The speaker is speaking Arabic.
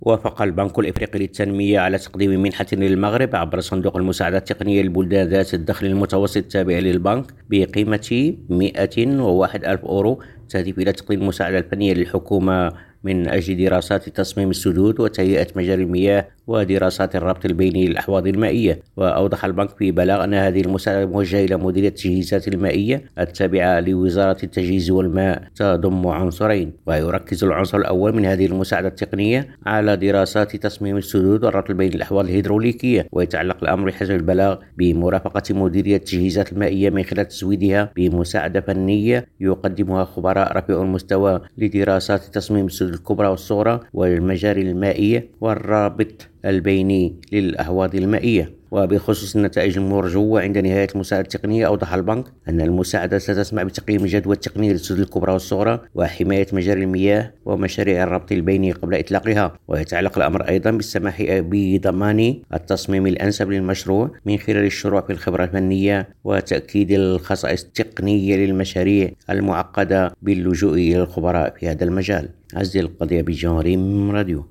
وافق البنك الإفريقي للتنمية على تقديم منحة للمغرب عبر صندوق المساعدة التقنية للبلدان ذات الدخل المتوسط التابع للبنك بقيمة 101 ألف أورو، تهدف إلى تقديم المساعدة الفنية للحكومة من أجل دراسات تصميم السدود وتهيئة مجاري المياه ودراسات الربط البيني للأحواض المائية. وأوضح البنك في بلاغ أن هذه المساعدة موجهة إلى مديرية التجهيزات المائية التابعة لوزارة التجهيز والماء، تضم عنصرين. ويركز العنصر الأول من هذه المساعدة التقنية على دراسات تصميم السدود والربط بين الأحواض الهيدروليكية، ويتعلق الأمر حسب البلاغ بمرافقة مديرية التجهيزات المائية من خلال تزويدها بمساعدة فنية يقدمها خبراء رفيع المستوى لدراسات تصميم السدود الكبرى والصغرى والمجاري المائية والرابط البيني للأحواض المائية. وبخصوص النتائج المرجوة عند نهاية المساعدة التقنية، أوضح البنك أن المساعدة ستسمح بتقييم الجدوى التقنية للسدود الكبرى والصغرى وحماية مجاري المياه ومشاريع الربط البيني قبل إطلاقها. ويتعلق الأمر أيضا بالسماح بضمان التصميم الأنسب للمشروع من خلال الشروع في الخبرة الفنية وتأكيد الخصائص التقنية للمشاريع المعقدة باللجوء إلى الخبراء في هذا المجال. عزيزي القضية بجانب راديو.